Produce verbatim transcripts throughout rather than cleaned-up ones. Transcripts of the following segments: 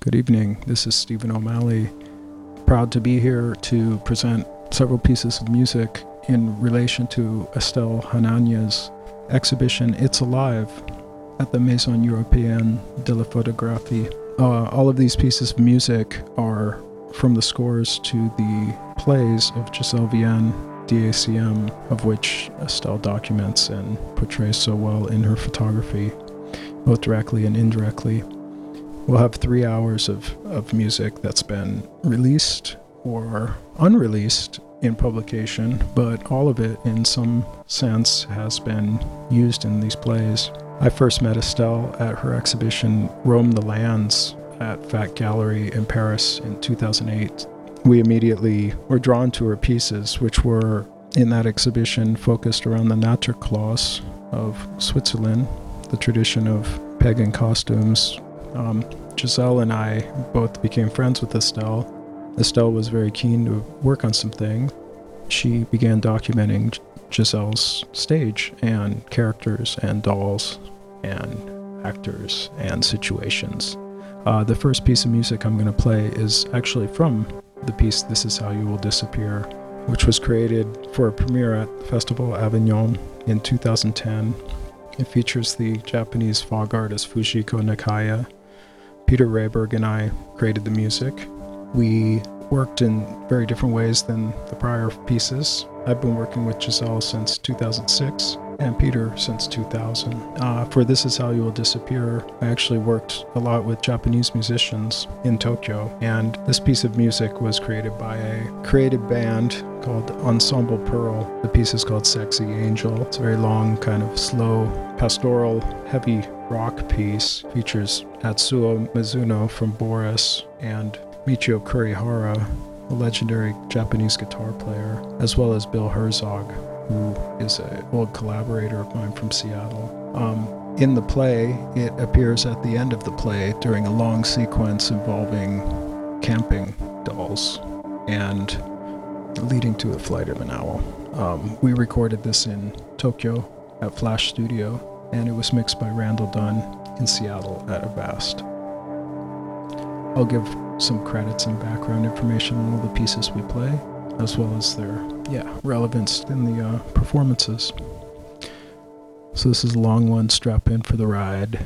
Good evening. This is Stephen O'Malley, proud to be here to present several pieces of music in relation to Estelle Hanania's exhibition It's Alive at the Maison Européenne de la Photographie. Uh, all of these pieces of music are from the scores to the plays of Gisèle Vienne, D A C M, of which Estelle documents and portrays so well in her photography, both directly and indirectly. We'll have three hours of, of music that's been released or unreleased in publication, but all of it in some sense has been used in these plays. I first met Estelle at her exhibition Roam the Lands at Fat Gallery in Paris in two thousand eight. We immediately were drawn to her pieces, which were in that exhibition focused around the Naturklaus of Switzerland, the tradition of pagan costumes. Um, Gisèle and I both became friends with Estelle. Estelle was very keen to work on something. She began documenting Gisèle's stage and characters and dolls and actors and situations. Uh, the first piece of music I'm going to play is actually from the piece This Is How You Will Disappear, which was created for a premiere at Festival Avignon in two thousand ten. It features the Japanese fog artist Fujiko Nakaya. Peter Rehberg and I created the music. We worked in very different ways than the prior pieces. I've been working with Gisèle since two thousand six and Peter since two thousand. Uh, for This Is How You Will Disappear, I actually worked a lot with Japanese musicians in Tokyo, and this piece of music was created by a creative band called Ensemble Pearl. The piece is called Sexy Angel. It's a very long, kind of slow, pastoral, heavy rock piece. Features Atsuo Mizuno from Boris and Michio Kurihara, a legendary Japanese guitar player, as well as Bill Herzog, who is an old collaborator of mine from Seattle. Um, in the play, it appears at the end of the play during a long sequence involving camping dolls and leading to the flight of an owl. Um, we recorded this in Tokyo at Flash Studio, and it was mixed by Randall Dunn in Seattle at Avast. I'll give some credits and background information on all the pieces we play, as well as their yeah relevance in the uh, performances. So this is a long one. Strap in for the ride.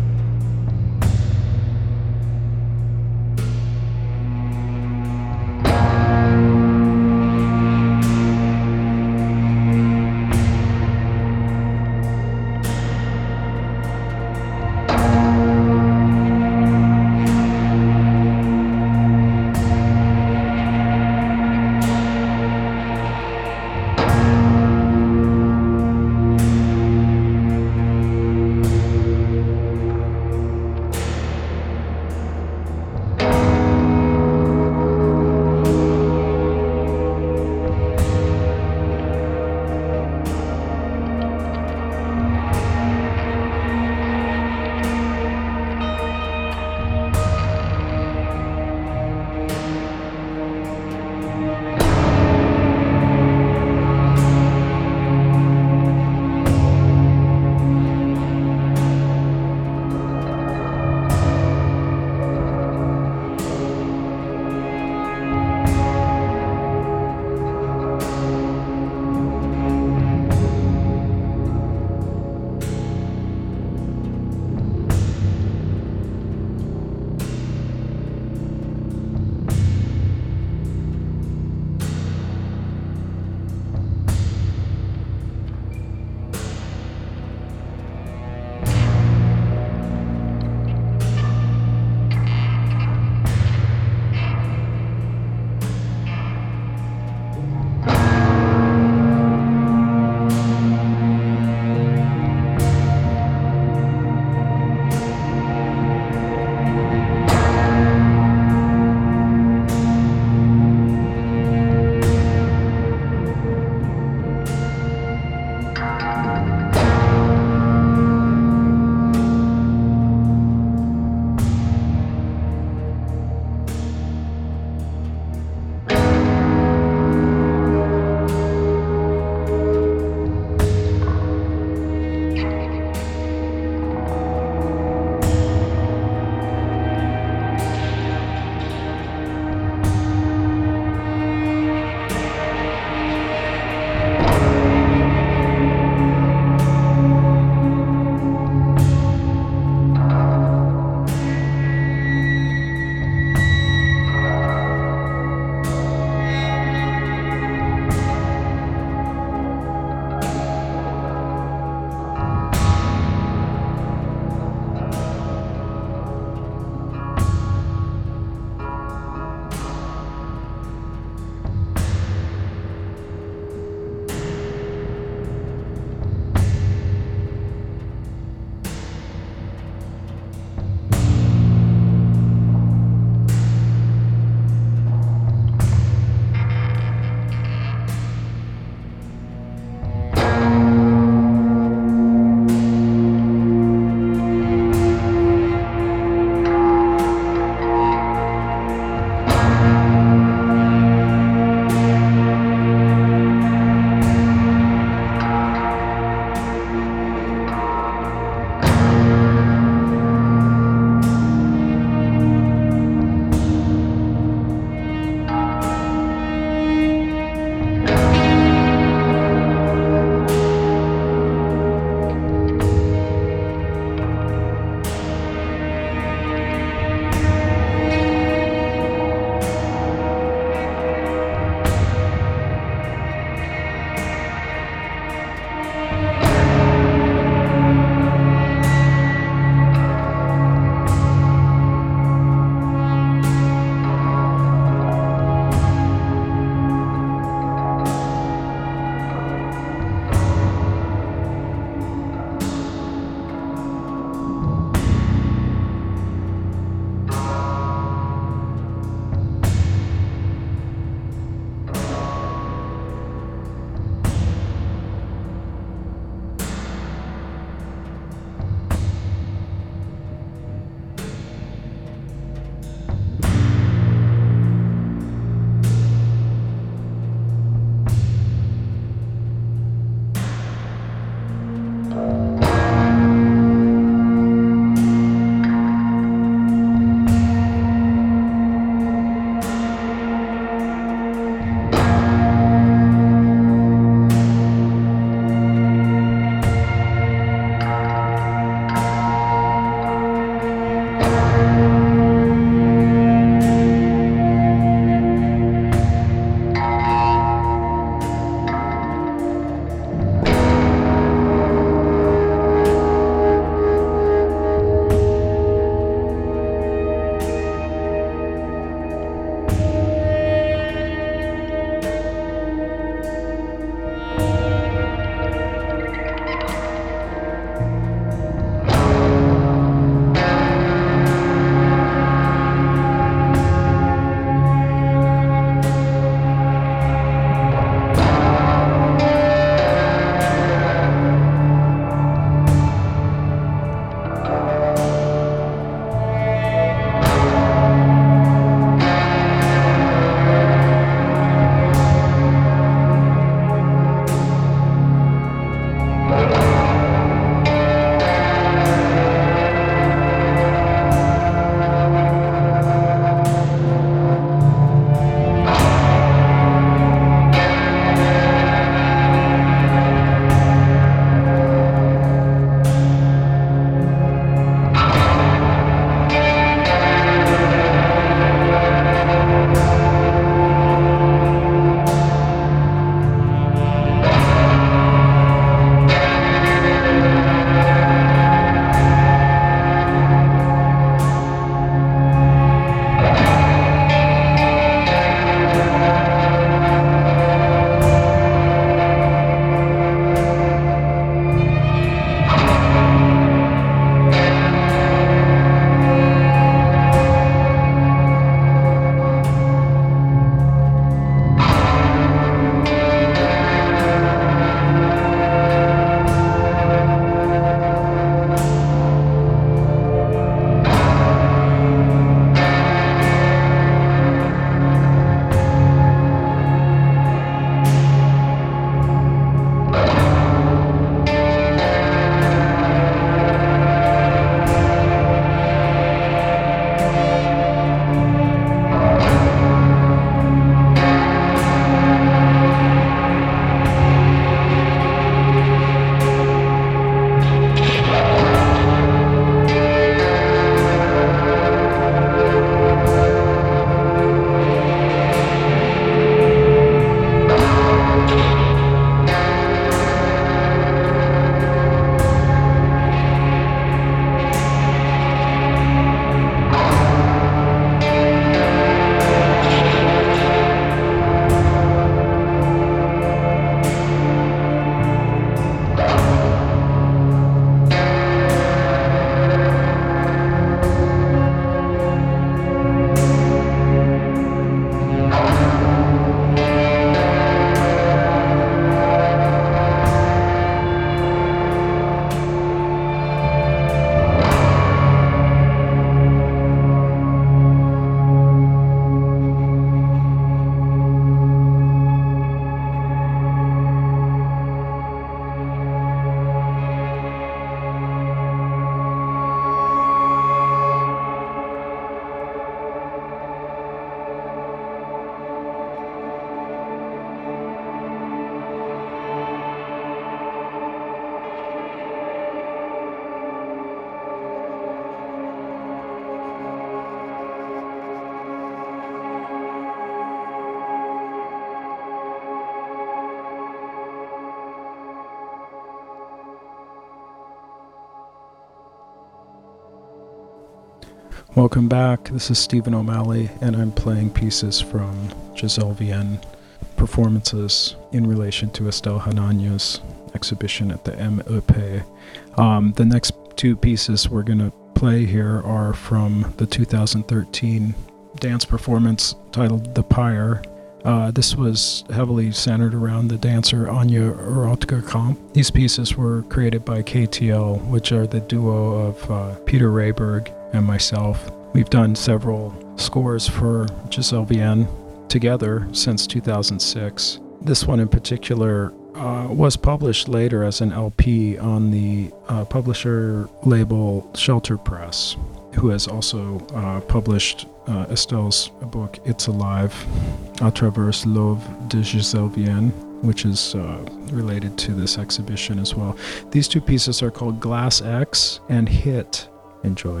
Welcome back. This is Stephen O'Malley, and I'm playing pieces from Giselle Vienne performances in relation to Estelle Hananya's exhibition at the M E P. Um, the next two pieces we're going to play here are from the two thousand thirteen dance performance titled The Pyre. Uh, this was heavily centered around the dancer Anya Rotker-Kamp. These pieces were created by K T L, which are the duo of uh, Peter Rehberg and myself. We've done several scores for Giselle Vienne together since two thousand six. This one in particular uh, was published later as an L P on the uh, publisher label Shelter Press, who has also uh, published uh, Estelle's book It's Alive, à travers l'œuvre de Giselle Vienne, which is uh, related to this exhibition as well. These two pieces are called Glass X and Hit. Enjoy.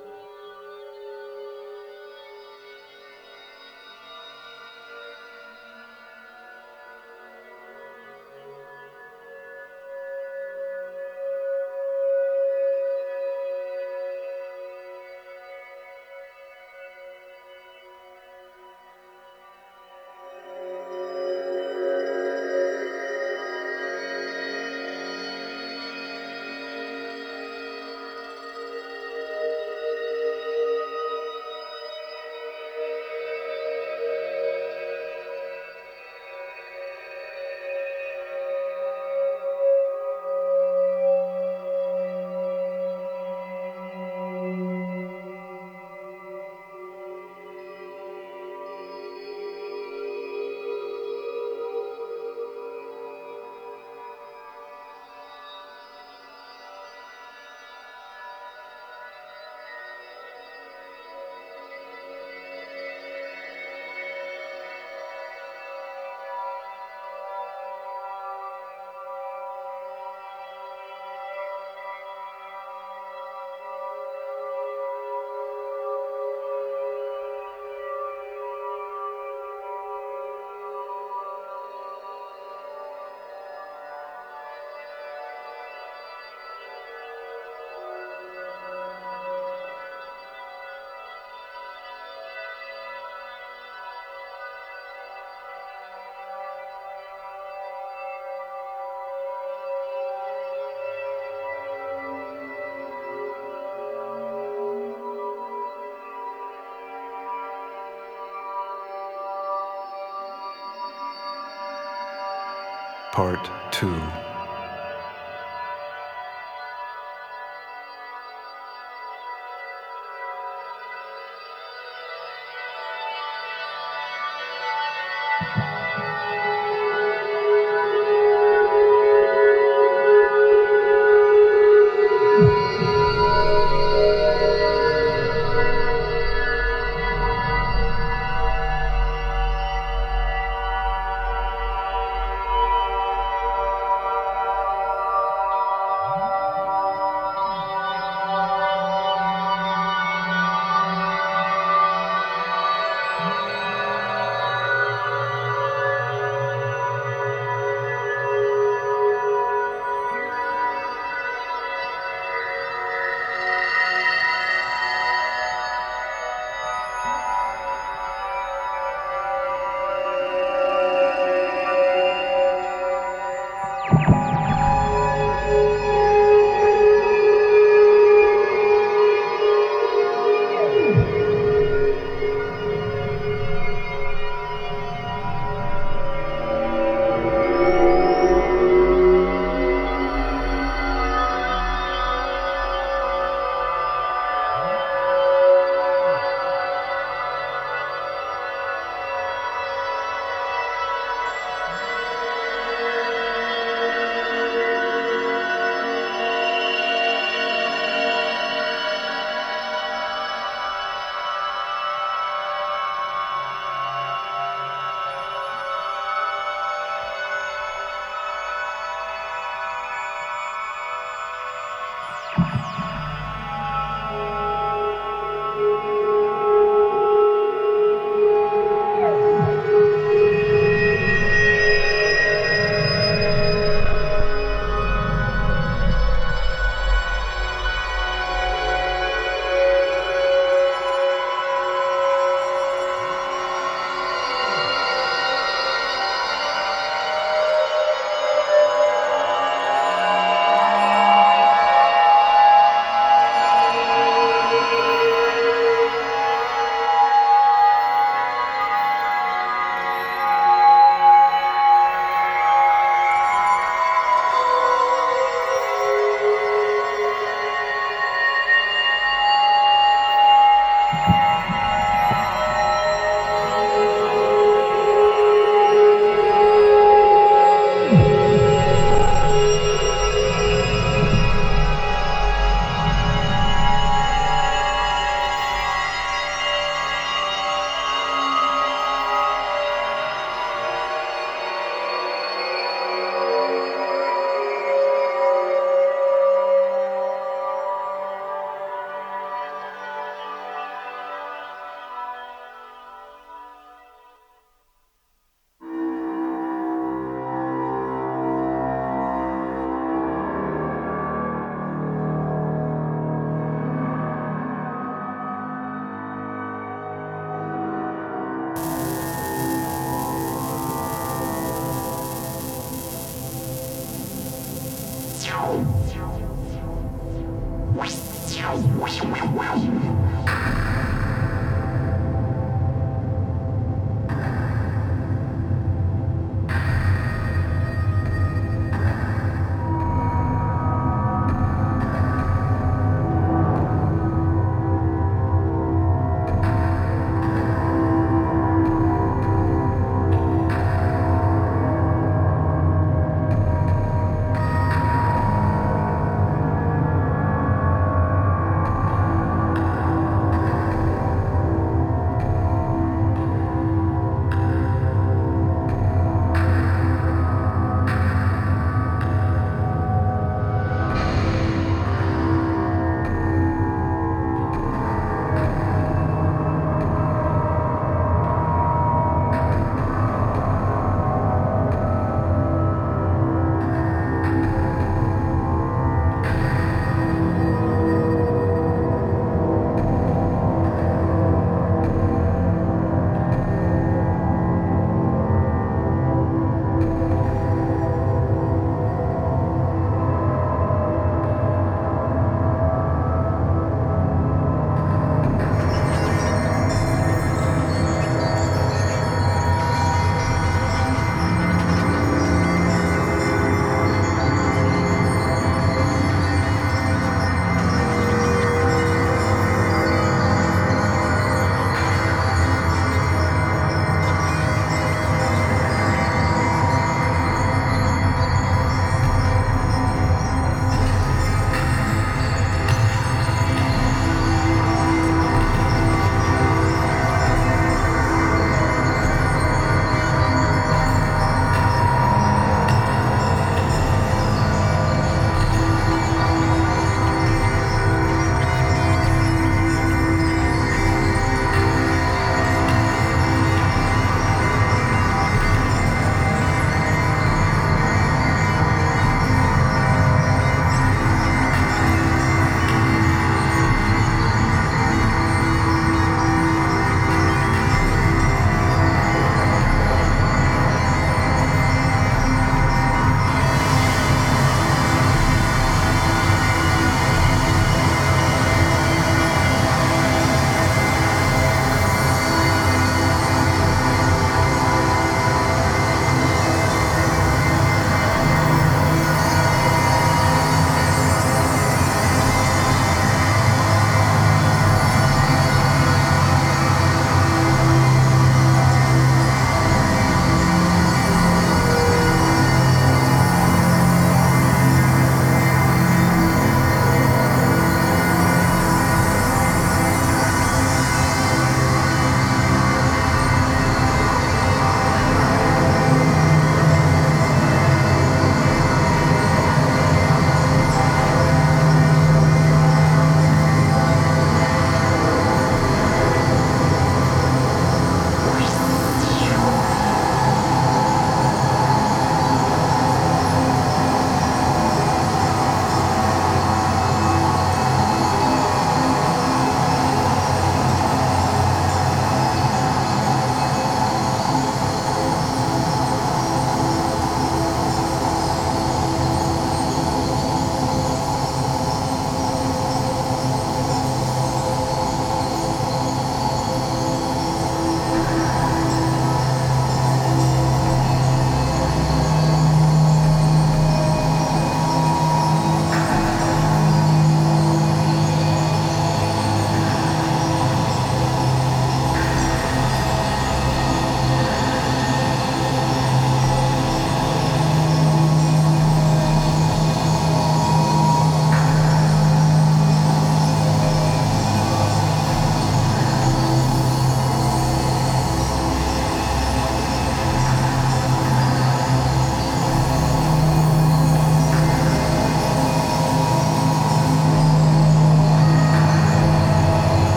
Part two.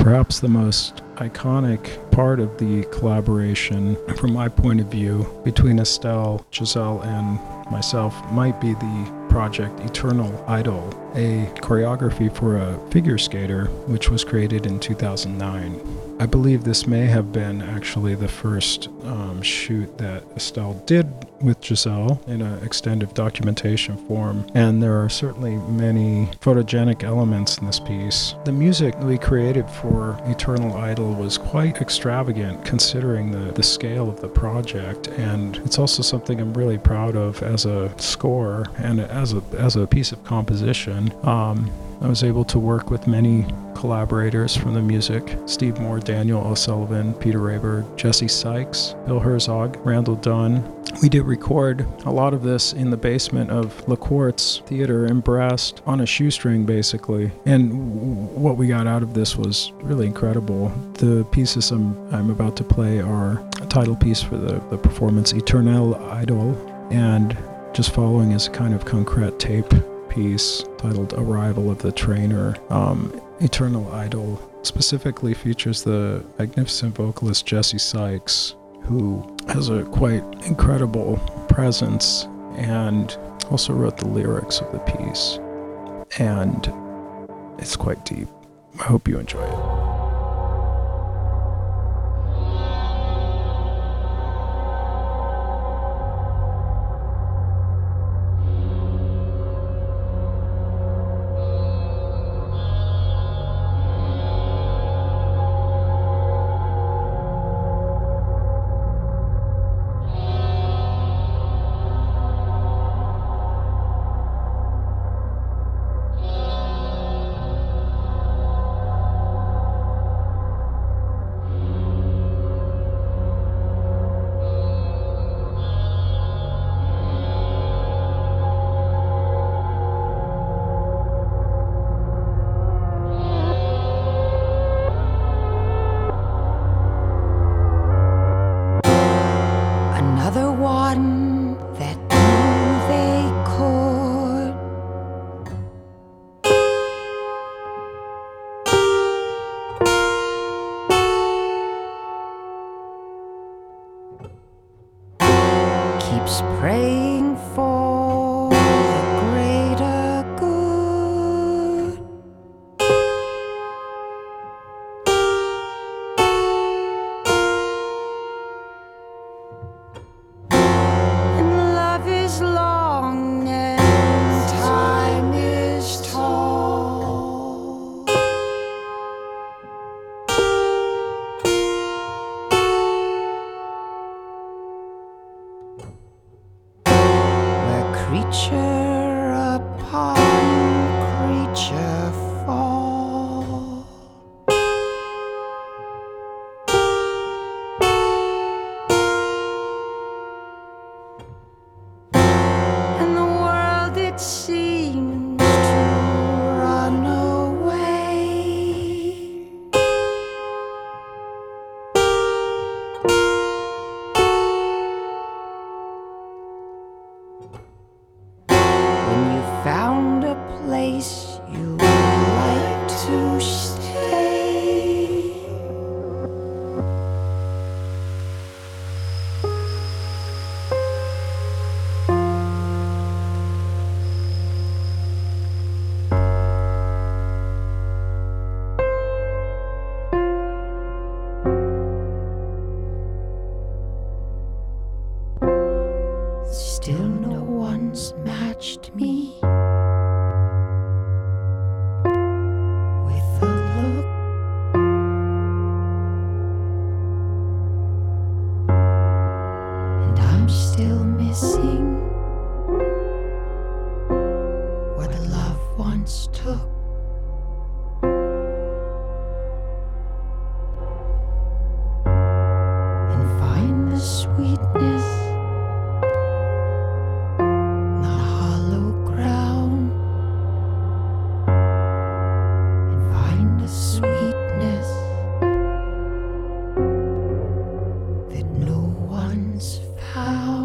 Perhaps the most iconic part of the collaboration, from my point of view, between Estelle, Giselle, and myself might be the project Eternal Idol, a choreography for a figure skater which was created in two thousand nine. I believe this may have been actually the first um, shoot that Estelle did with Giselle in an extended documentation form, and there are certainly many photogenic elements in this piece. The music we created for Eternal Idol was quite extravagant considering the, the scale of the project, and it's also something I'm really proud of as a score and as a, as a piece of composition. Um, I was able to work with many collaborators from the music: Steve Moore, Daniel O'Sullivan, Peter Raber, Jesse Sykes, Bill Herzog, Randall Dunn. We did record a lot of this in the basement of La Quartz Theater in Brest on a shoestring, basically. And w- what we got out of this was really incredible. The pieces I'm, I'm about to play are a title piece for the, the performance, Eternal Idol, and just following is a kind of concrete tape piece titled Arrival of the Trainer. Um, Eternal Idol specifically features the magnificent vocalist Jesse Sykes, who has a quite incredible presence and also wrote the lyrics of the piece. And it's quite deep. I hope you enjoy it. Keeps praying for the greater good. And love is long and time is tall. Creature upon creature fall. And the world, it seems to run away. Found a place you like to stay. Still no one's matched me. Still missing what love once took. And find the sweetness in the hollow ground. And find the sweetness that no one's found.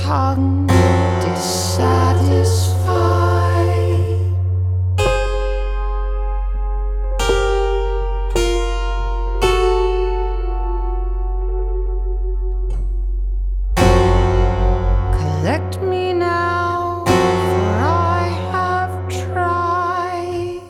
tongue dissatisfied. Collect me now, for I have tried.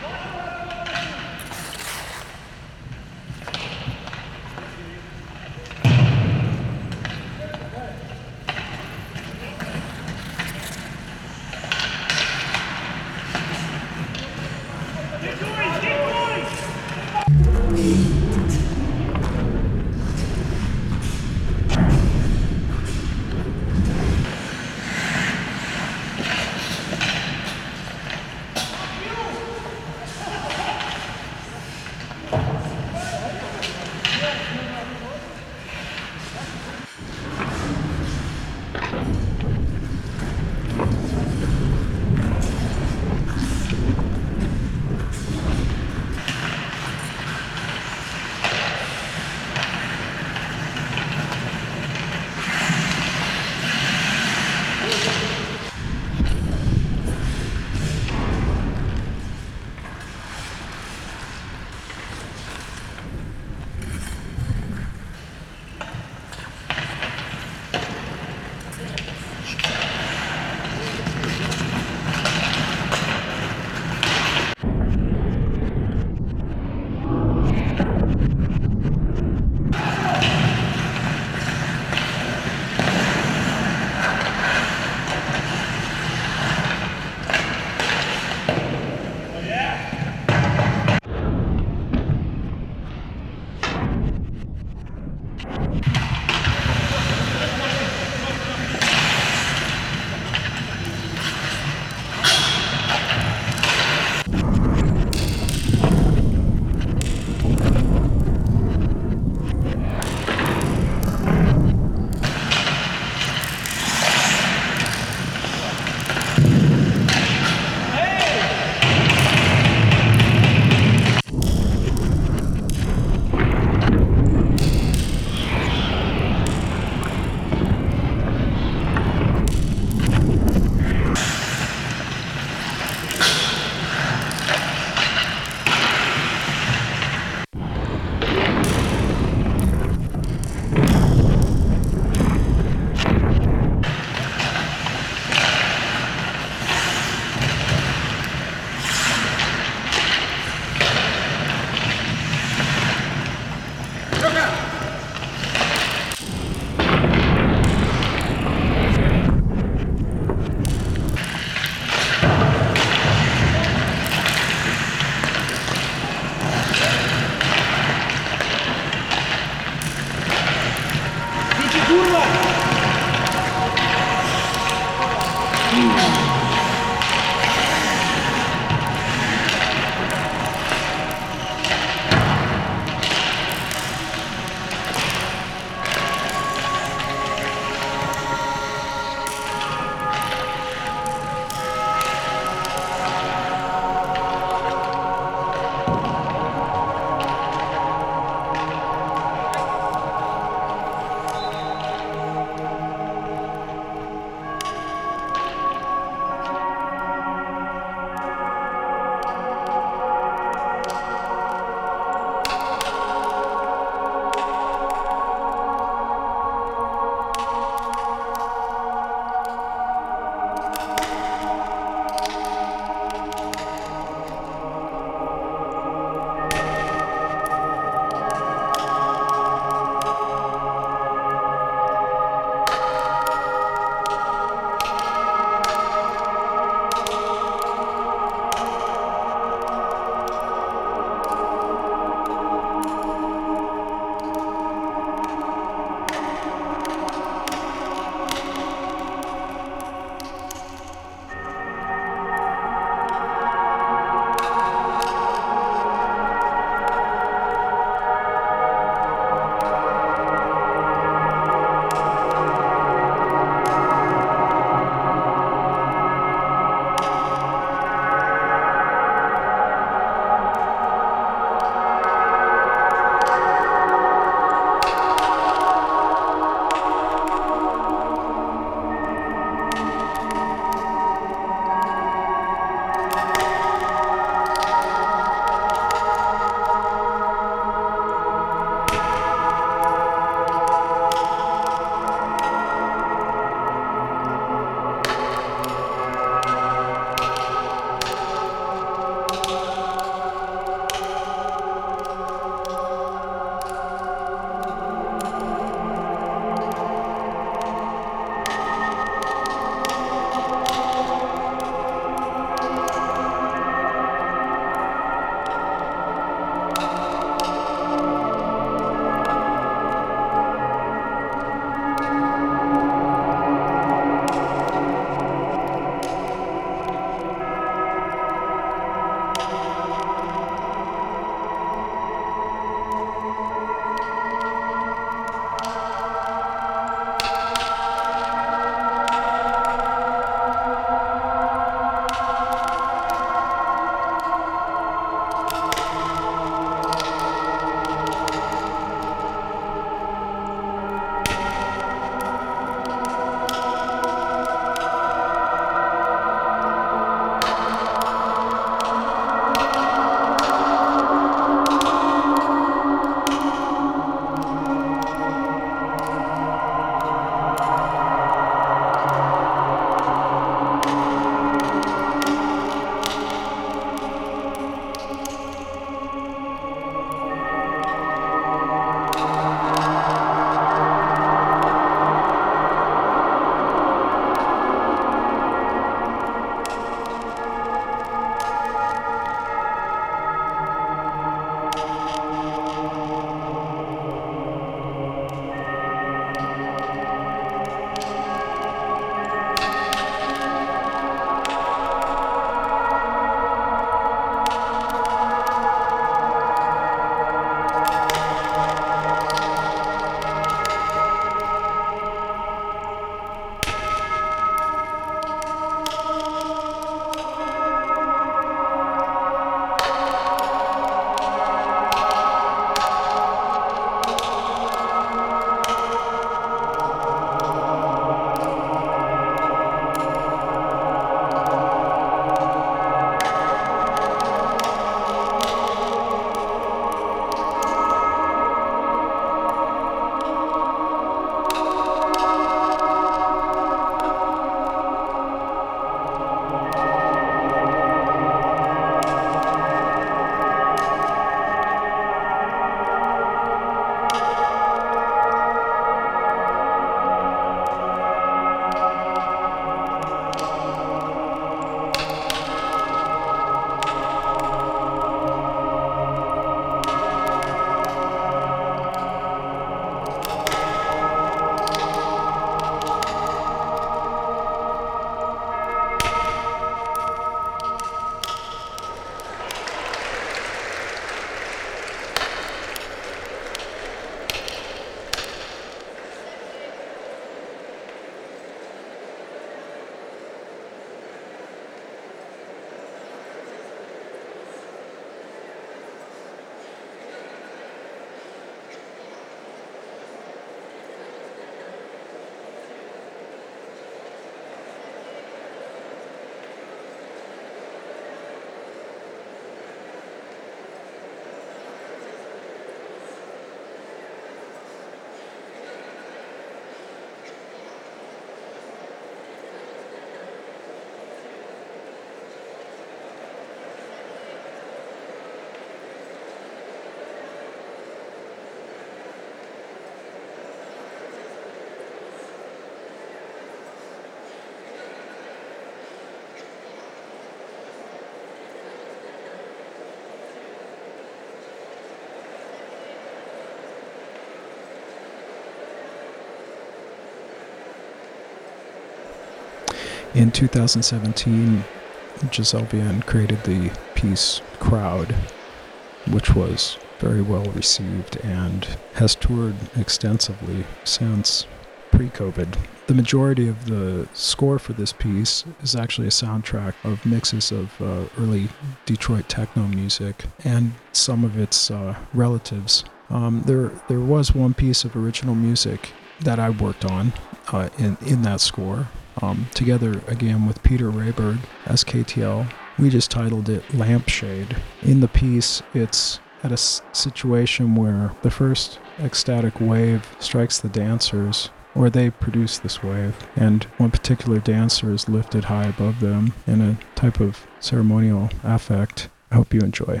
In two thousand seventeen, Giselle Vienne created the piece Crowd, which was very well received and has toured extensively since pre-COVID. The majority of the score for this piece is actually a soundtrack of mixes of uh, early Detroit techno music and some of its uh, relatives. Um, there, there was one piece of original music that I worked on uh, in in that score, um, together again with Peter Rayberg as K T L. We just titled it Lampshade. In the piece, it's at a s- situation where the first ecstatic wave strikes the dancers, or they produce this wave, and one particular dancer is lifted high above them in a type of ceremonial affect. I hope you enjoy.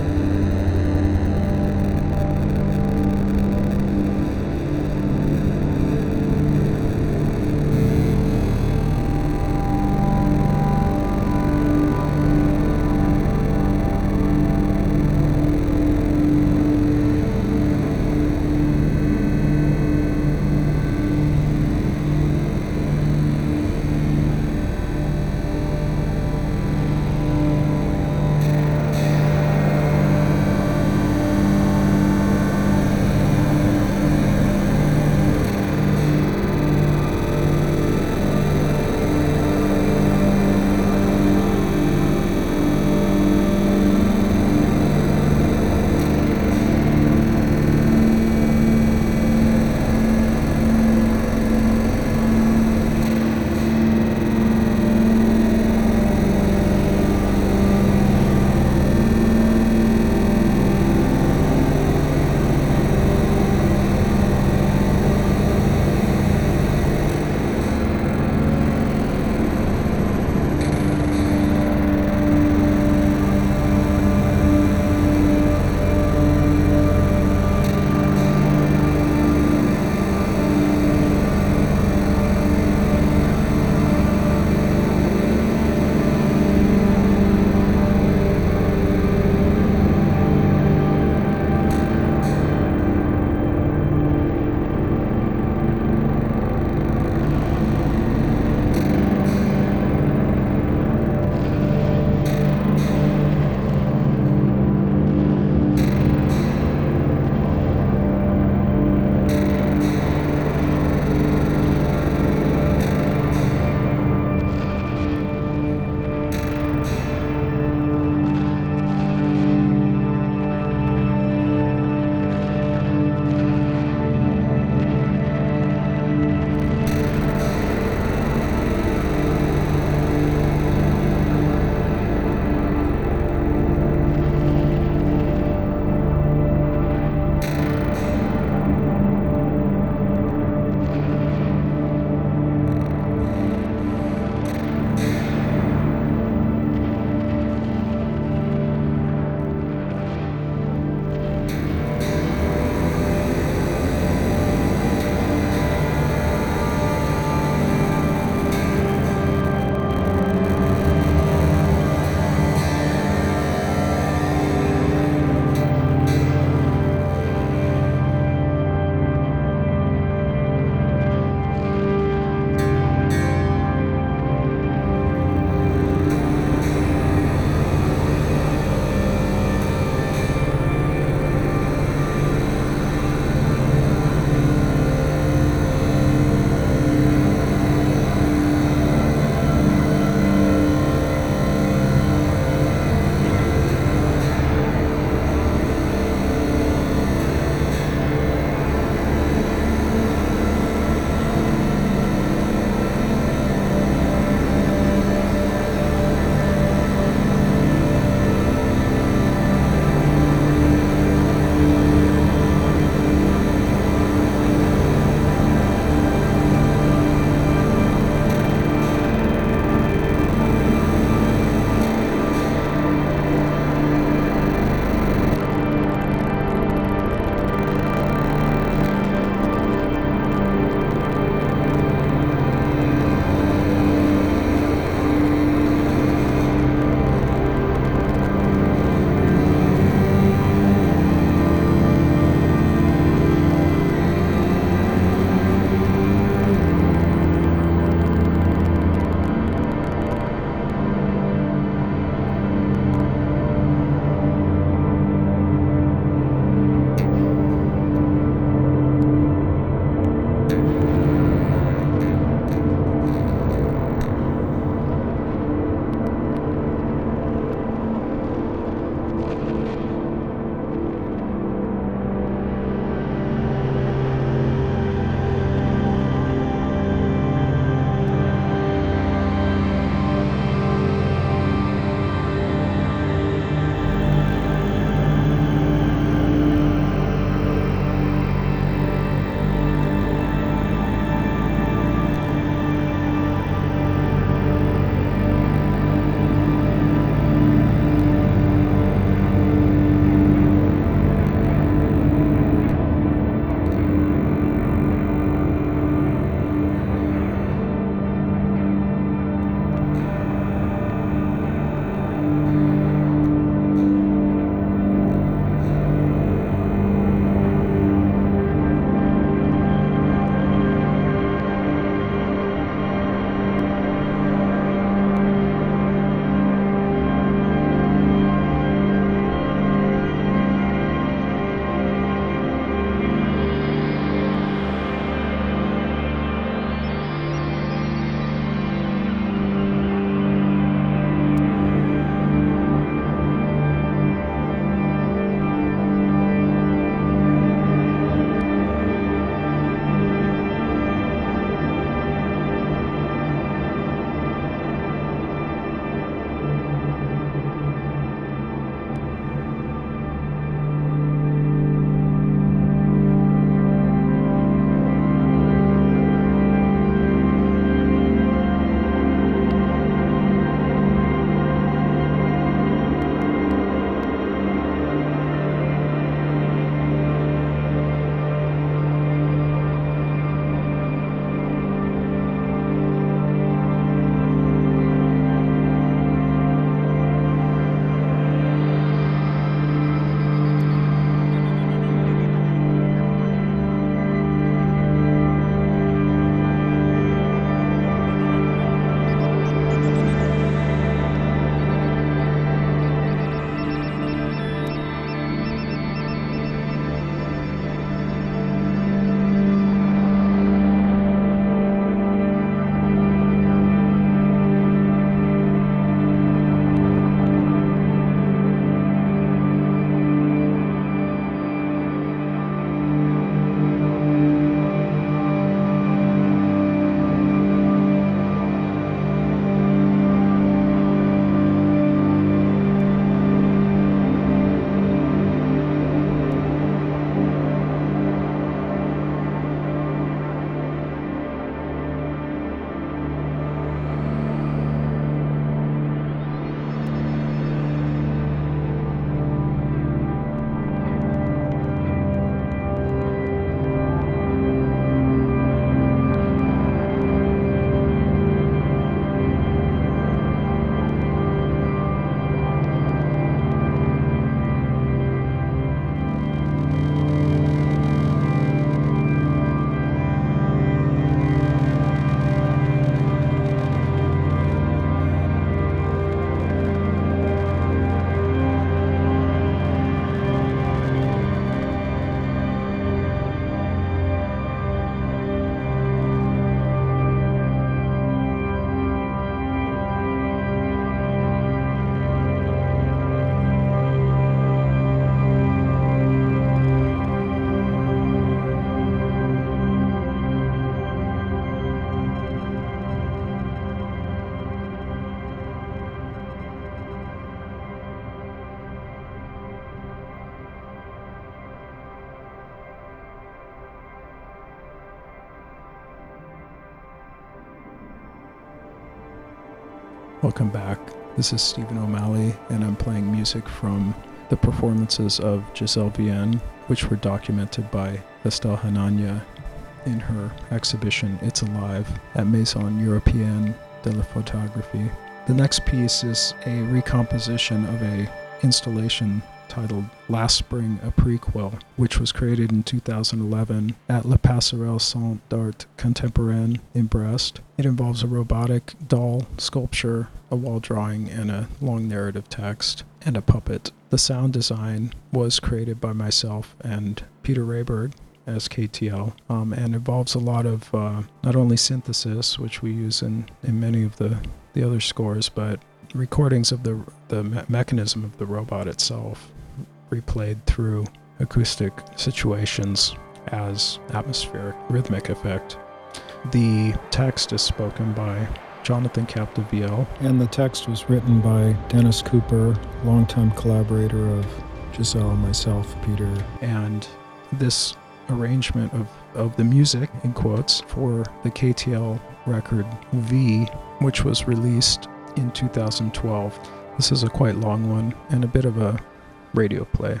Welcome back. This is Stephen O'Malley, and I'm playing music from the performances of Gisèle Vienne, which were documented by Estelle Hanania in her exhibition It's Alive at Maison Européenne de la Photographie. The next piece is a recomposition of a installation titled Last Spring, a Prequel, which was created in two thousand eleven at La Passerelle Centre d'Art Contemporain in Brest. It involves a robotic doll sculpture, a wall drawing, and a long narrative text, and a puppet. The sound design was created by myself and Peter Rayberg as K T L, um, and involves a lot of uh, not only synthesis, which we use in, in many of the, the other scores, but recordings of the, the me- mechanism of the robot itself, replayed through acoustic situations as atmospheric rhythmic effect. The text is spoken by Jonathan Capdevielle, and the text was written by Dennis Cooper, longtime collaborator of Gisèle, myself, Peter, and this arrangement of, of the music, in quotes, for the K T L record V, which was released in two thousand twelve. This is a quite long one and a bit of a radio play.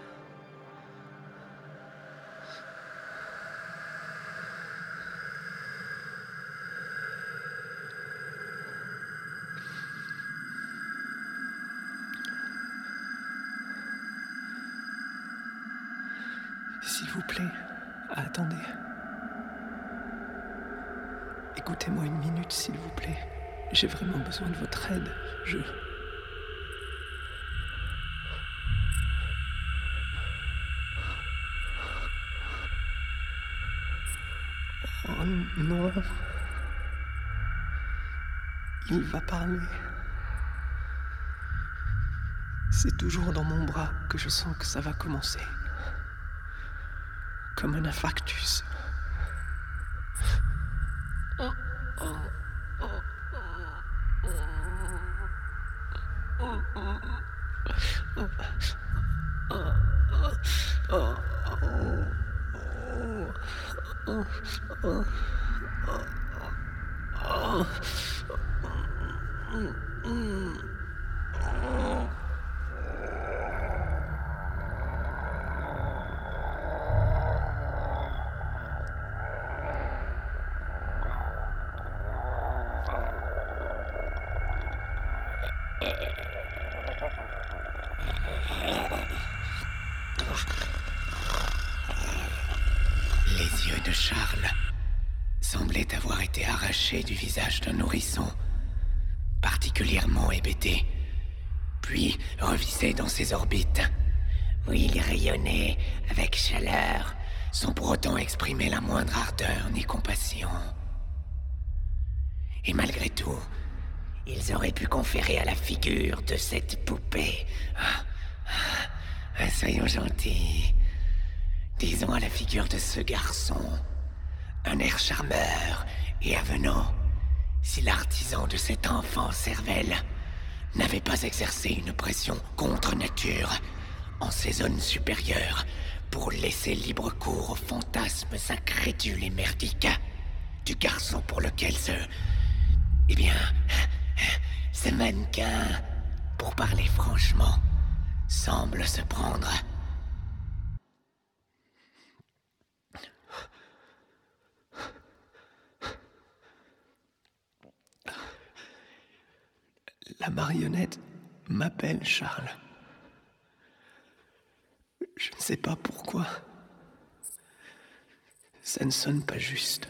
S'il vous plaît, attendez. Écoutez-moi une minute, s'il vous plaît. J'ai vraiment besoin de votre aide. Je... Oh non. Il va parler. C'est toujours dans mon bras que je sens que ça va commencer. Comme un infarctus. Oh, oh, oh, oh, oh, oh, Les yeux de Charles semblaient avoir été arrachés du visage d'un nourrisson, particulièrement hébété, puis revissaient dans ses orbites, où il rayonnait avec chaleur, sans pour autant exprimer la moindre ardeur ni compassion. Et malgré tout, ils auraient pu conférer à la figure de cette poupée. Ah, ah, soyons gentils. Disons à la figure de ce garçon un air charmeur et avenant, si l'artisan de cet enfant cervelle n'avait pas exercé une pression contre nature en ses zones supérieures pour laisser libre cours aux fantasmes incrédules et merdiques du garçon pour lequel ce... Eh bien, ce mannequin, pour parler franchement, semble se prendre. La marionnette m'appelle Charles. Je ne sais pas pourquoi. Ça ne sonne pas juste.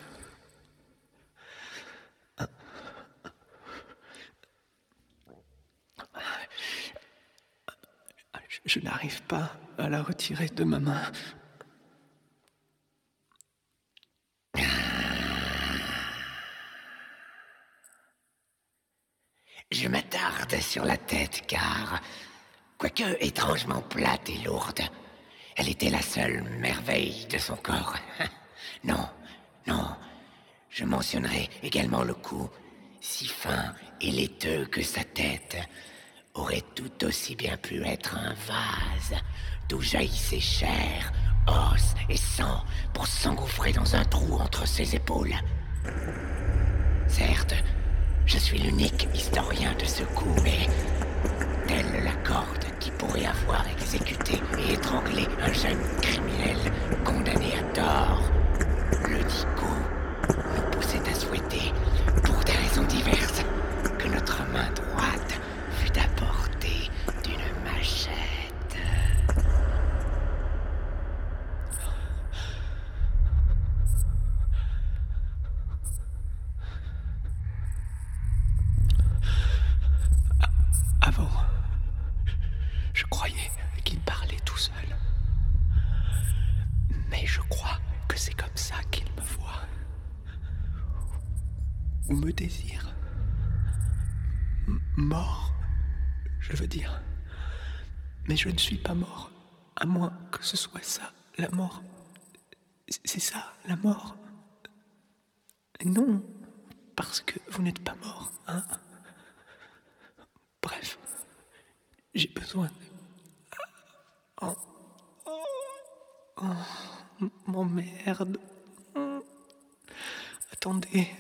Je n'arrive pas à la retirer de ma main. Je m'attarde sur la tête car, quoique étrangement plate et lourde, elle était la seule merveille de son corps. Non, non, je mentionnerai également le cou, si fin et laiteux que sa tête aurait tout aussi bien pu être un vase d'où jaillissait chair, os et sang pour s'engouffrer dans un trou entre ses épaules. Certes, Je suis l'unique historien de ce coup, mais telle la corde qui pourrait avoir exécuté et étranglé un jeune criminel condamné à tort, le dit coup nous poussait à souhaiter, pour des raisons diverses, que notre main droite fût à portée d'une machette. Avant, je croyais qu'il parlait tout seul. Mais je crois que c'est comme ça qu'il me voit. Ou me désire. M- mort, je veux dire. Mais je ne suis pas mort. À moins que ce soit ça, la mort. C'est ça, la mort. Non, parce que vous n'êtes pas mort, hein. Bref, j'ai besoin de... Oh, oh, oh, m'emmerde. Attendez.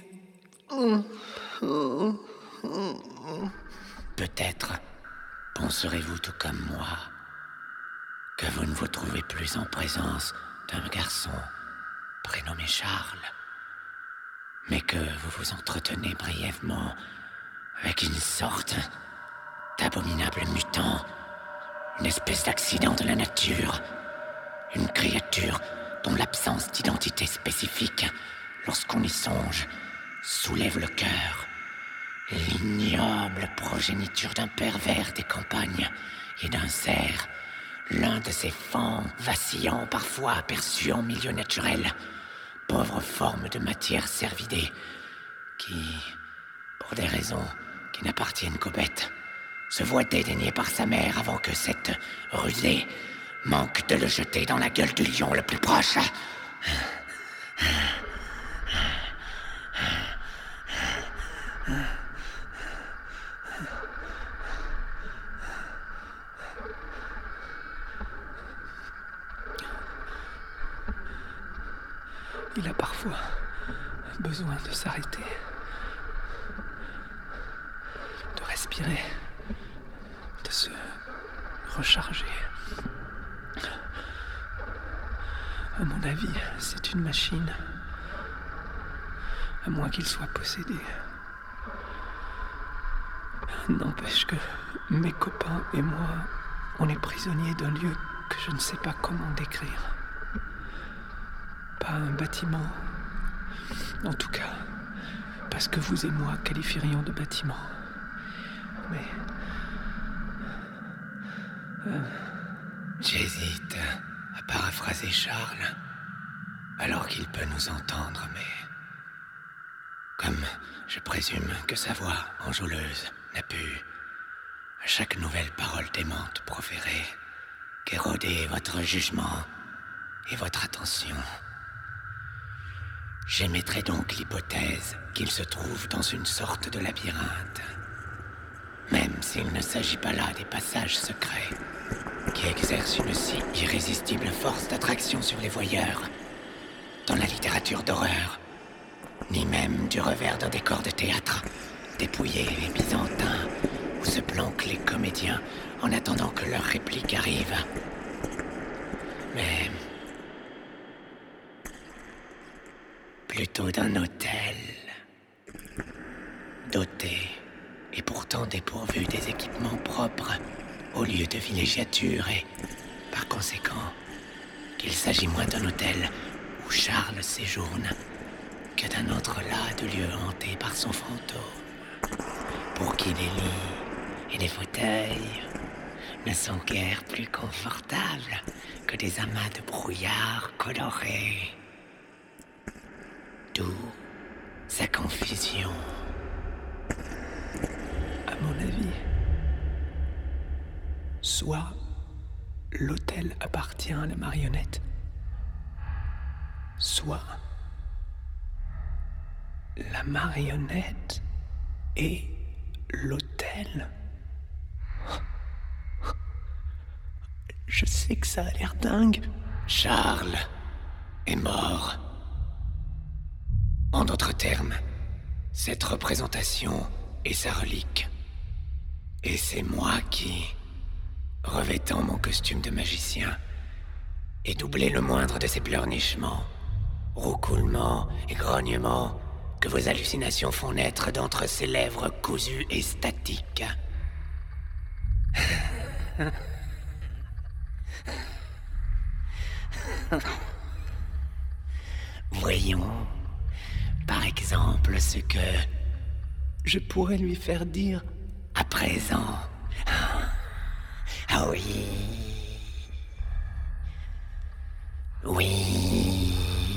Peut-être penserez-vous tout comme moi que vous ne vous trouvez plus en présence d'un garçon prénommé Charles, mais que vous vous entretenez brièvement avec une sorte d'abominable mutant, une espèce d'accident de la nature, une créature dont l'absence d'identité spécifique, lorsqu'on y songe, soulève le cœur. L'ignoble progéniture d'un pervers des campagnes et d'un cerf, l'un de ces fans vacillants parfois aperçus en milieu naturel, pauvre forme de matière cervidée, qui, pour des raisons qui n'appartiennent qu'aux bêtes, se voit dédaigné par sa mère avant que cette rusée manque de le jeter dans la gueule du lion le plus proche. Il a parfois besoin de s'arrêter, de respirer, de se recharger. À mon avis, c'est une machine, à moins qu'il soit possédé. N'empêche que mes copains et moi, on est prisonniers d'un lieu que je ne sais pas comment décrire. Pas un bâtiment. En tout cas, pas ce que vous et moi qualifierions de bâtiment. Mais... Euh... J'hésite à paraphraser Charles, alors qu'il peut nous entendre, mais... Comme je présume que sa voix enjôleuse n'a pu, à chaque nouvelle parole démente proférée, qu'éroder votre jugement et votre attention. J'émettrai donc l'hypothèse qu'il se trouve dans une sorte de labyrinthe, même s'il ne s'agit pas là des passages secrets qui exercent une si irrésistible force d'attraction sur les voyeurs dans la littérature d'horreur, ni même du revers d'un décor de théâtre dépouillé et byzantin où se planquent les comédiens en attendant que leur réplique arrive. Mais... plutôt d'un hôtel, doté et pourtant dépourvu des équipements propres au lieu de villégiature et, par conséquent, qu'il s'agit moins d'un hôtel où Charles séjourne que d'un autre là de lieu hanté par son fantôme, pour qui les lits et les fauteuils ne sont guère plus confortables que des amas de brouillard colorés. D'où sa confusion. À mon avis, soit l'hôtel appartient à la marionnette, soit la marionnette et l'hôtel. Je sais que ça a l'air dingue. Charles est mort. En d'autres termes, cette représentation et sa relique. Et c'est moi qui, revêtant mon costume de magicien, ai doublé le moindre de ces pleurnichements, roucoulements et grognements que vos hallucinations font naître d'entre ces lèvres cousues et statiques. Voyons, par exemple, ce que je pourrais lui faire dire à présent. Ah oui. Oui.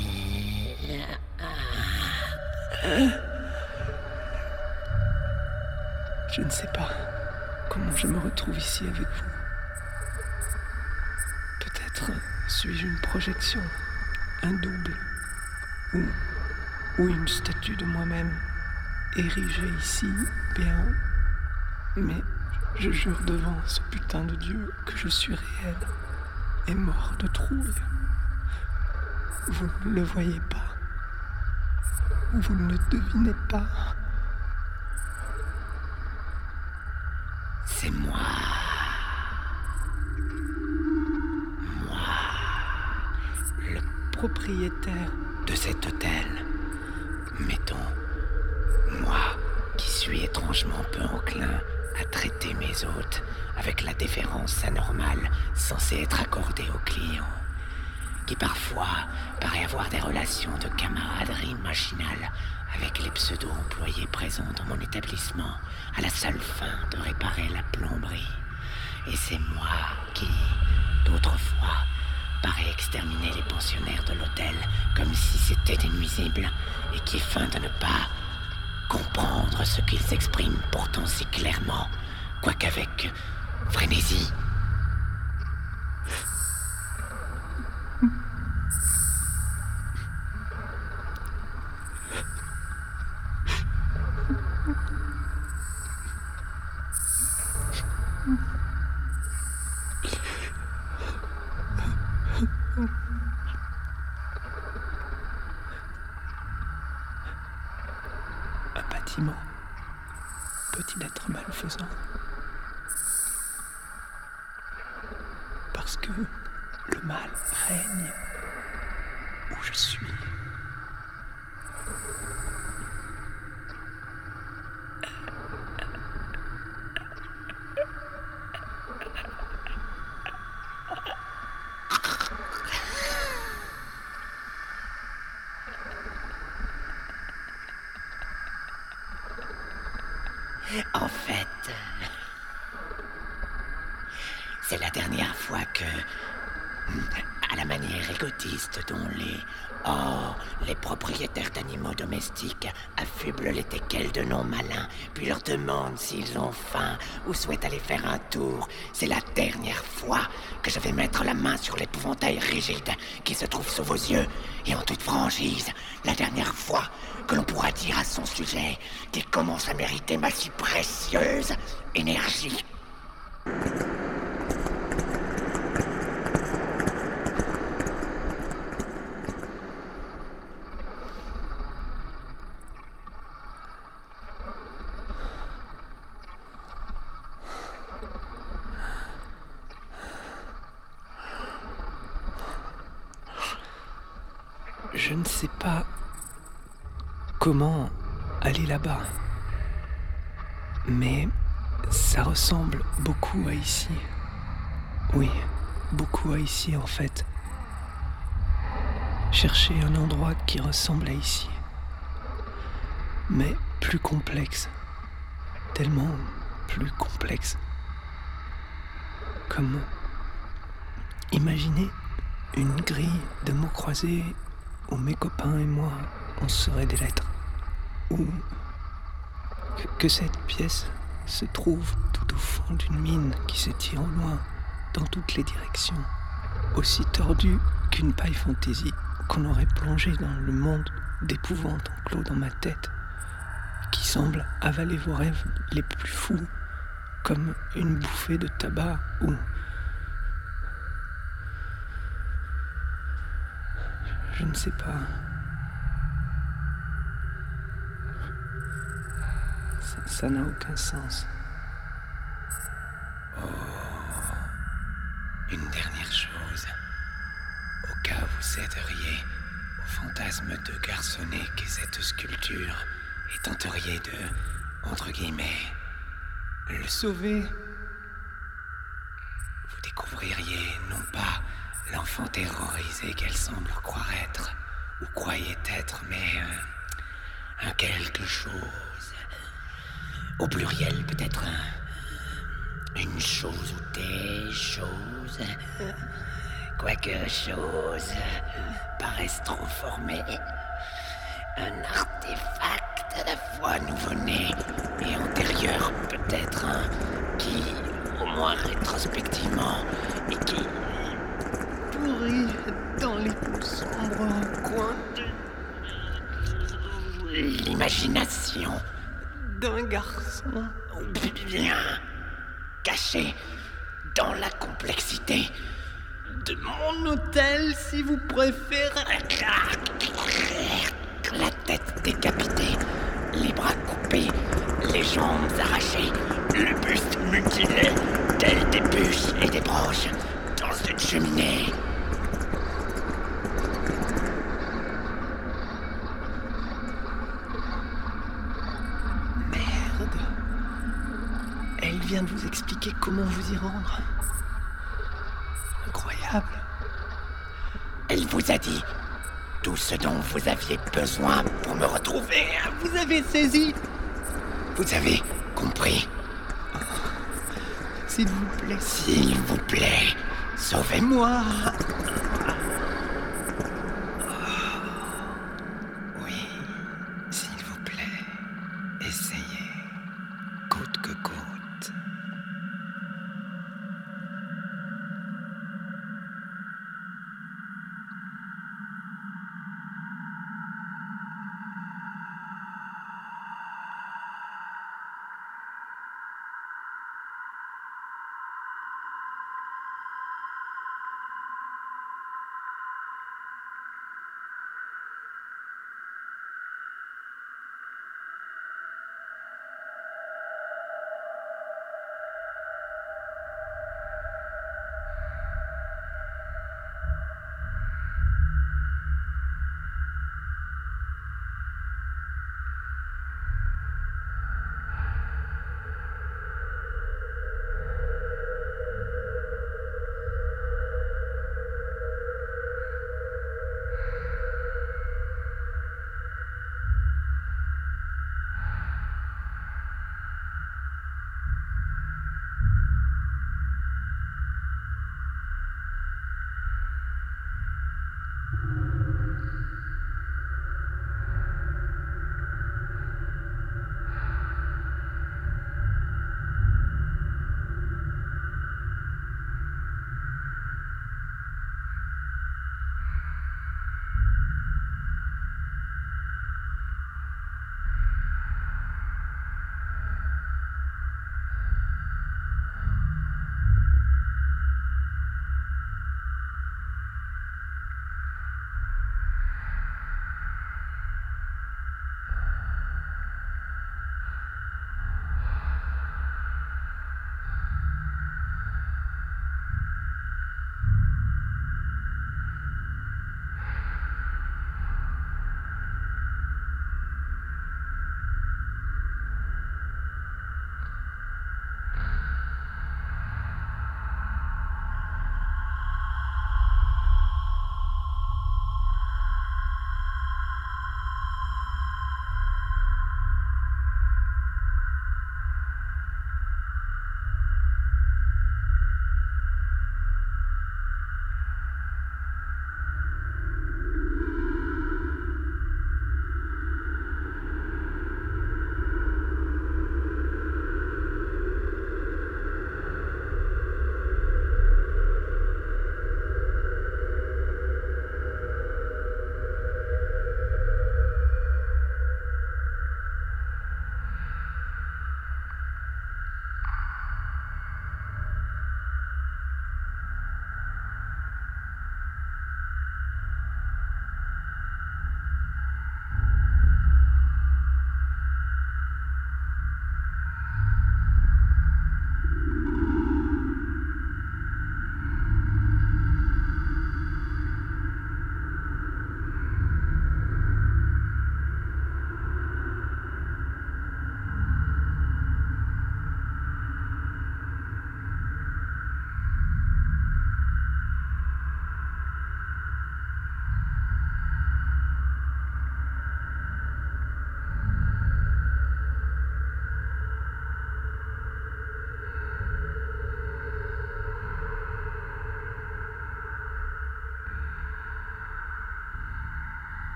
Je ne sais pas comment je me retrouve ici avec vous. Peut-être suis-je une projection, un double, ou, ou une statue de moi-même érigée ici, bien. Mais je jure devant ce putain de Dieu que je suis réel et mort de trouille. Vous ne le voyez pas. Vous ne le devinez pas. C'est moi. Moi. Le propriétaire de cet hôtel. Mettons, moi qui suis étrangement peu enclin à traiter mes hôtes avec la déférence anormale censée être accordée aux clients, qui parfois paraît avoir des relations de camaraderie machinale avec les pseudo-employés présents dans mon établissement à la seule fin de réparer la plomberie. Et c'est moi qui, d'autres fois, paraît exterminer les pensionnaires de l'hôtel comme si c'était des nuisibles et qui feint de ne pas comprendre ce qu'ils expriment pourtant si clairement, quoiqu'avec frénésie. Un bâtiment peut-il être malfaisant? Parce que le mal règne où je suis. En fait, c'est la dernière fois que, à la manière égotiste dont les, oh, les propriétaires d'animaux domestiques affublent les teckels de noms malins, puis leur demandent s'ils ont faim ou souhaitent aller faire un tour, c'est la dernière fois que je vais mettre la main sur l'épouvantail rigide qui se trouve sous vos yeux, et en toute franchise, la dernière fois que l'on pourra dire à son sujet qu'il commence à mériter ma si précieuse énergie. Je ne sais pas comment aller là-bas, mais ça ressemble beaucoup à ici. Oui, beaucoup à ici en fait. Chercher un endroit qui ressemble à ici, mais plus complexe, tellement plus complexe. Comme imaginer une grille de mots croisés où mes copains et moi, on serait des lettres. Ou que, que cette pièce se trouve tout au fond d'une mine qui s'étire au loin, dans toutes les directions, aussi tordue qu'une paille fantaisie qu'on aurait plongée dans le monde d'épouvante enclos dans ma tête, qui semble avaler vos rêves les plus fous, comme une bouffée de tabac ou... Je ne sais pas. Ça, ça n'a aucun sens. Une dernière chose. Au cas où vous céderiez au fantasme de garçonnet qu'est cette sculpture et tenteriez de, entre guillemets, le sauver, vous découvririez non pas l'enfant terrorisé qu'elle semble croire être, ou croyait être, mais un, un quelque chose. Au pluriel, peut-être un, une chose ou des choses. Quoique chose paraisse trop formé. Un artefact à la fois nouveau-né et antérieur, peut-être un qui, au moins rétrospectivement, et qui pourrit dans les plus sombres coins de l'imagination d'un garçon bien caché dans la complexité de mon hôtel, si vous préférez. La tête décapitée, les bras coupés, les jambes arrachées, le buste mutilé, tels des bûches et des broches dans une cheminée. Merde. Elle vient de vous expliquer comment vous y rendre. Incroyable. Elle vous a dit tout ce dont vous aviez besoin pour me retrouver. Vous avez saisi. Vous avez compris. S'il vous plaît, s'il vous plaît, sauvez-moi. Oui, s'il vous plaît, essayez, coûte que coûte.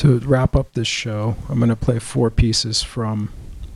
To wrap up this show, I'm going to play four pieces from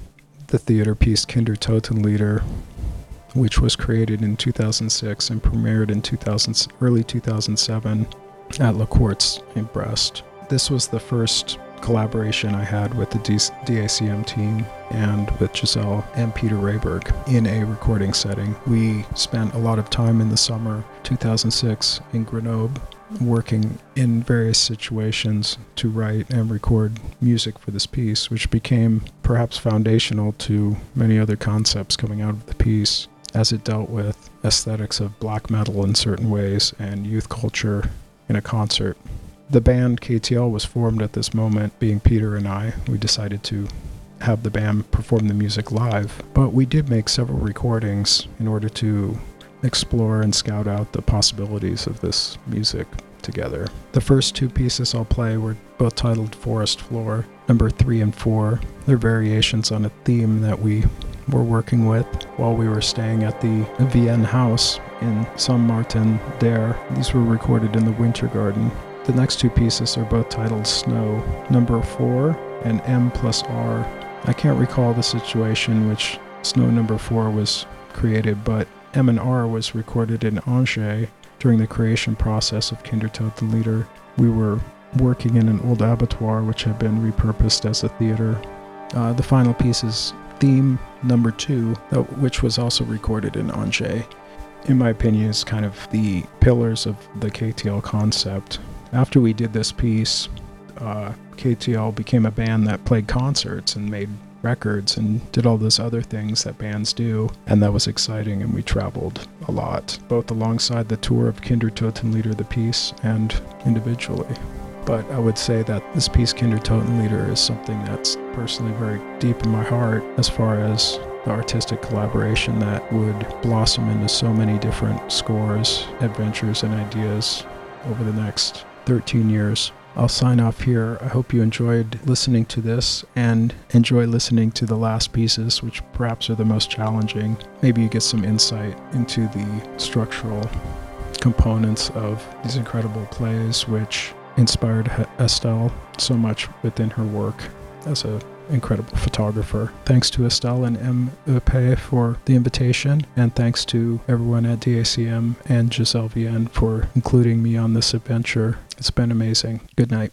the theater piece Kindertotenlieder, which was created in two thousand six and premiered in two thousand, early two thousand seven at La Quartz in Brest. This was the first collaboration I had with the D A C M team and with Giselle and Peter Rehberg in a recording setting. We spent a lot of time in the summer two thousand six in Grenoble working in various situations to write and record music for this piece, which became perhaps foundational to many other concepts coming out of the piece, as it dealt with aesthetics of black metal in certain ways and youth culture in a concert. The band K T L was formed at this moment, being Peter and I. We decided to have the band perform the music live, but we did make several recordings in order to explore and scout out the possibilities of this music together. The first two pieces I'll play were both titled Forest Floor, number three and four. They're variations on a theme that we were working with while we were staying at the Vienne House in Saint-Martin-d'Air. These were recorded in the Winter Garden. The next two pieces are both titled Snow, number four and M plus R. I can't recall the situation in which Snow number four was created, but M and R was recorded in Angers during the creation process of Kindertotenlieder. We were working in an old abattoir which had been repurposed as a theater. Uh, the final piece is Theme number two, uh, which was also recorded in Angers. In my opinion, is kind of the pillars of the K T L concept. After we did this piece, uh, K T L became a band that played concerts and made records and did all those other things that bands do, and that was exciting, and we traveled a lot, both alongside the tour of Kindertotenlieder the piece and individually. But I would say that this piece Kindertotenlieder is something that's personally very deep in my heart as far as the artistic collaboration that would blossom into so many different scores, adventures, and ideas over the next thirteen years. I'll sign off here. I hope you enjoyed listening to this and enjoy listening to the last pieces, which perhaps are the most challenging. Maybe you get some insight into the structural components of these incredible plays, which inspired Estelle so much within her work as an incredible photographer. Thanks to Estelle and M E P for the invitation, and thanks to everyone at D A C M and Giselle Vienne for including me on this adventure. It's been amazing. Good night.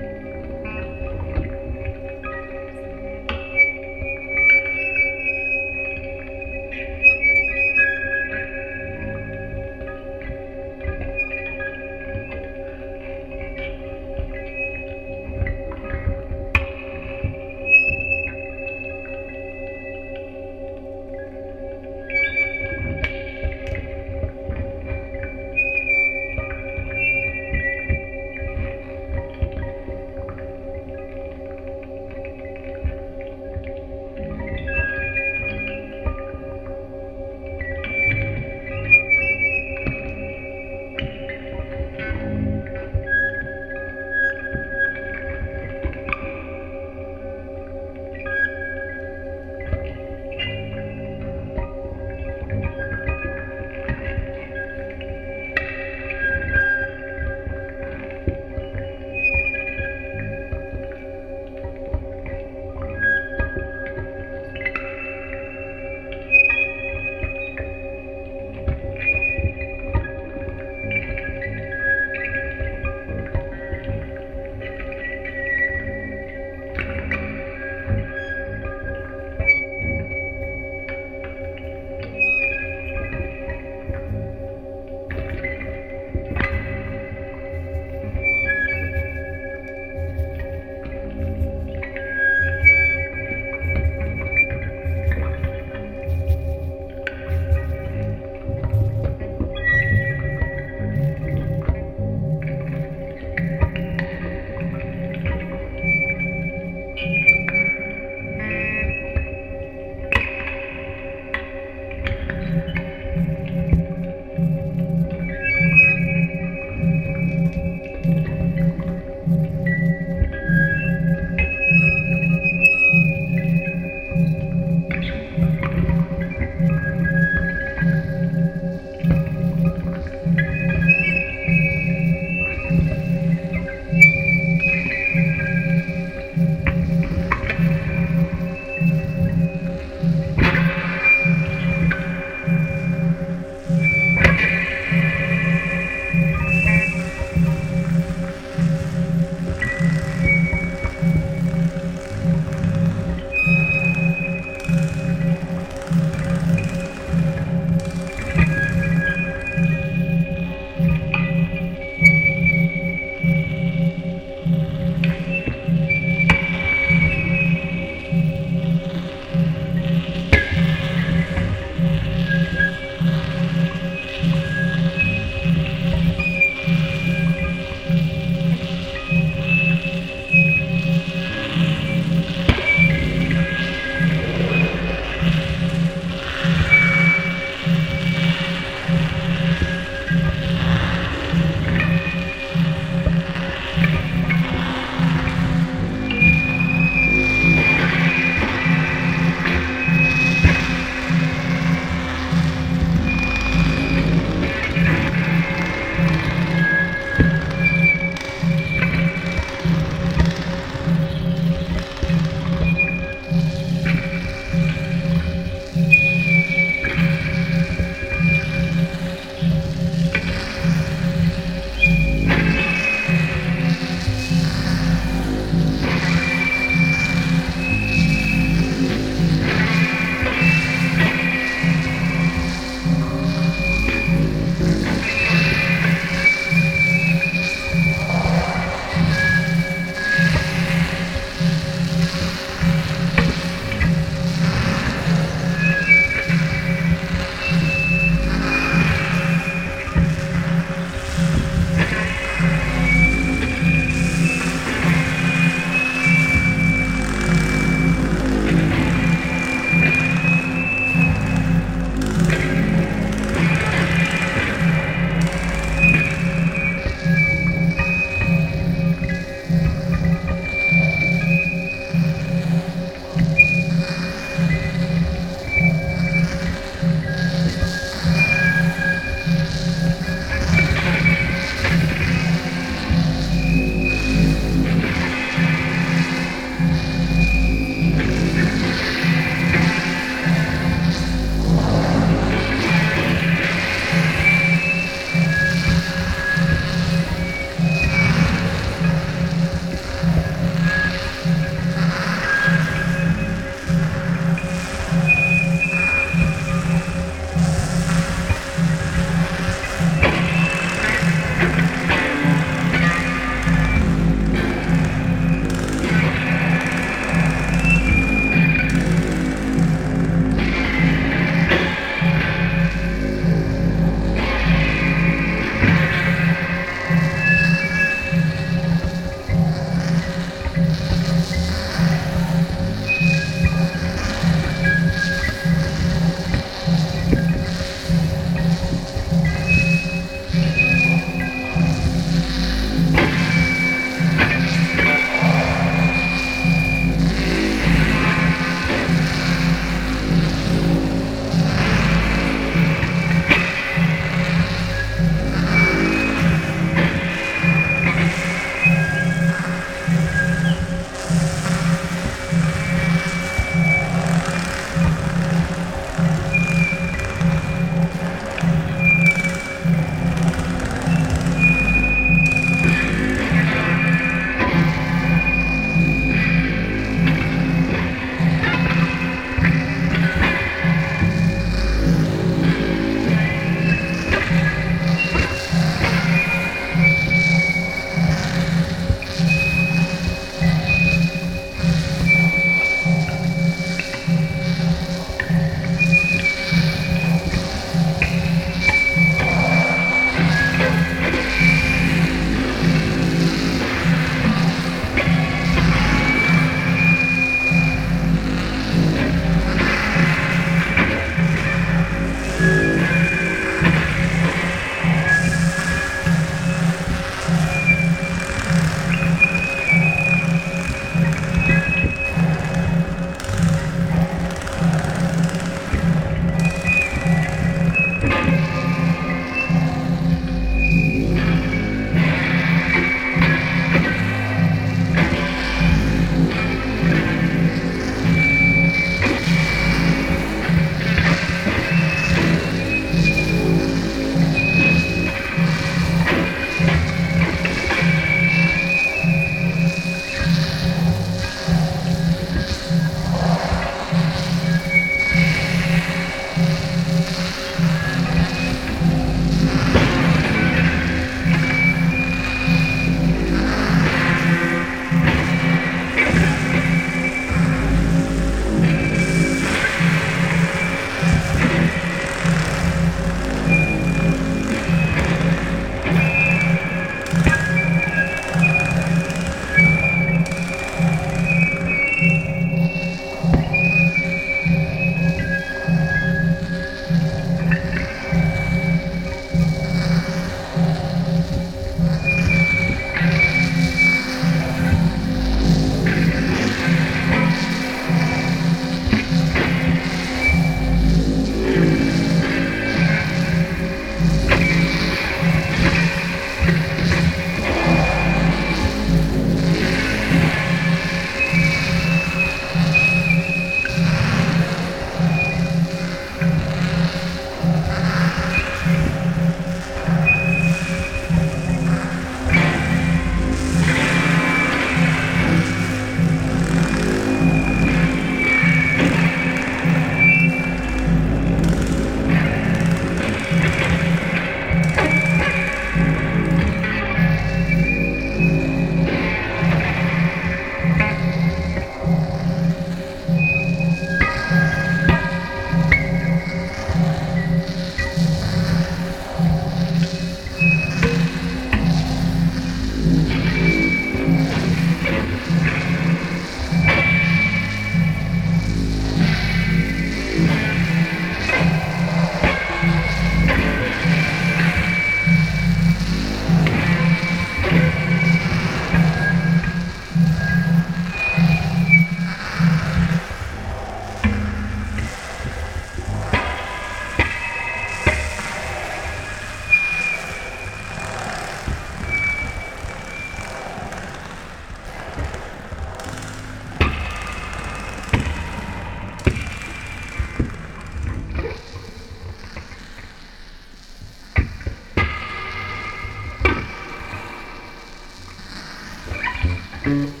Thank you.